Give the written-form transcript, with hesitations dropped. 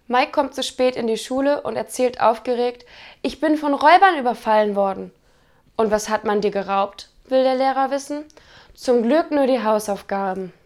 Mike kommt zu spät in die Schule und erzählt aufgeregt, ich bin von Räubern überfallen worden. Und was hat man dir geraubt, will der Lehrer wissen. Zum Glück nur die Hausaufgaben.